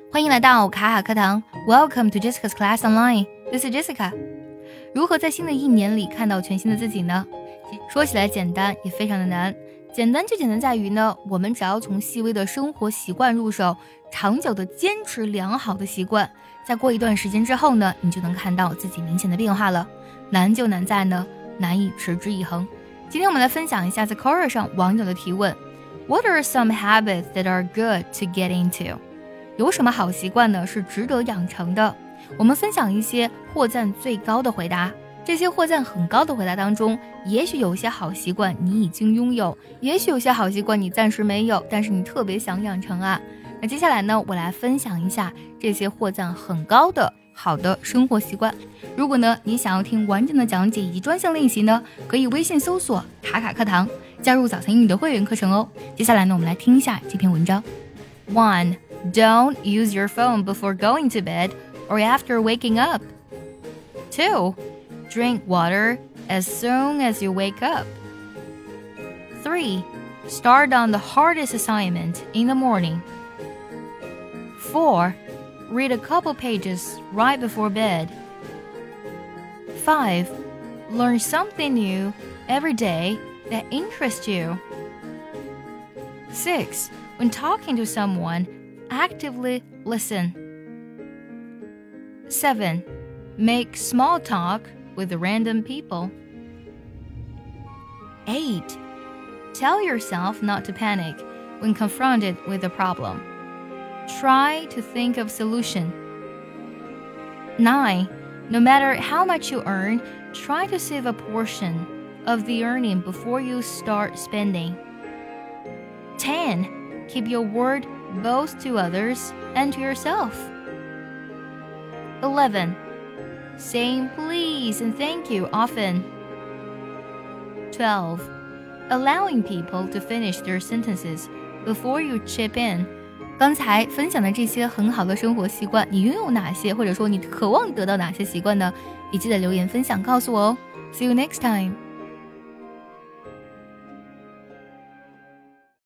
欢迎来到卡卡课堂 Welcome to Jessica's Class Online. This is Jessica. 如何在新的一年里看到全新的自己呢？说起来简单，也非常的难。简单就简单在于呢，我们只要从细微的生活习惯入手，长久的坚持良好的习惯，再过一段时间之后呢，你就能看到自己明显的变化了。难就难在呢，难以持之以恒。今天我们来分享一下在 Quora 上网友的提问 What are some habits that are good to get into?有什么好习惯呢是值得养成的？我们分享一些获赞最高的回答。这些获赞很高的回答当中，也许有些好习惯你已经拥有，也许有些好习惯你暂时没有，但是你特别想养成啊。那接下来呢，我来分享一下这些获赞很高的好的生活习惯。如果呢你想要听完整的讲解以及专项练习呢，可以微信搜索卡卡课堂，加入早餐英语的会员课程哦。接下来呢，我们来听一下这篇文章。1.Don't use your phone before going to bed or after waking up. 2. Drink water as soon as you wake up. 3. Start on the hardest assignment in the morning. 4. Read a couple pages right before bed. 5. Learn something new every day that interests you. 6. When talking to someone,Actively listen. 7. Make small talk with random people. 8. Tell yourself not to panic when confronted with a problem. Try to think of solution. 9. No matter how much you earn, try to save a portion of the earning before you start spending. 10. Keep your word both to others and to yourself. 11. Saying please and thank you often. 12. Allowing people to finish their sentences before you chip in. 刚才分享的这些很好的生活习惯，你拥有哪些，或者说你渴望得到哪些习惯呢？也记得留言分享告诉我哦。See you next time.